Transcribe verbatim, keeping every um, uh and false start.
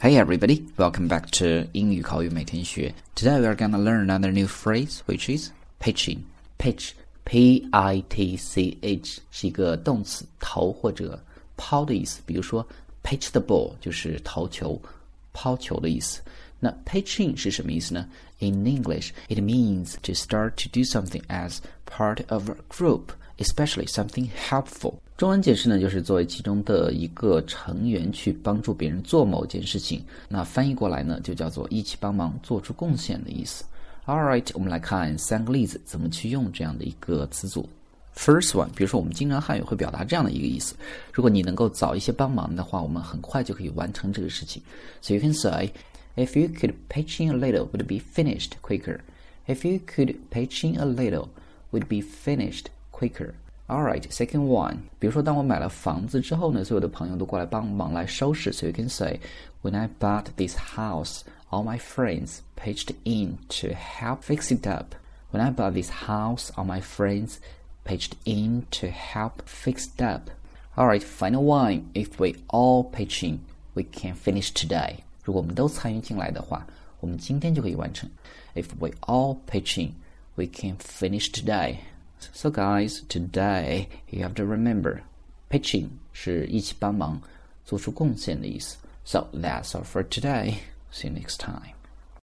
Hey everybody, welcome back to 英语口语每天学. Today we are gonna learn another new phrase, which is pitching. Pitch, P I T C H 是一个动词，投或者抛的意思。比如说 pitch the ball 就是投球、抛球的意思。那 pitching 是什么意思呢？ In English, it means to start to do something as part of a group, especially something helpful. 中文解释呢，就是作为其中的一个成员去帮助别人做某件事情。那翻译过来呢，就叫做一起帮忙做出贡献的意思。Alright, 我们来看三个例子，怎么去用这样的一个词组。First one, 比如说我们经常汉语会表达这样的一个意思，如果你能够早一些帮忙的话，我们很快就可以完成这个事情。So you can say, if you could pitch in a little, would be finished quicker. If you could pitch in a little, would be finished quicker.Alright, second one. 比如说当我买了房子之后呢，所有的朋友都过来帮忙来收拾。So you can say, when I bought this house, all my friends pitched in to help fix it up. When I bought this house, all my friends pitched in to help fix it up. Alright, final one. If we all pitch in, we can finish today. 如果我们都参与进来的话，我们今天就可以完成。If we all pitch in, we can finish today.So guys, today you have to remember, pitching 是一起帮忙做出贡献的意思。So that's all for today. See you next time.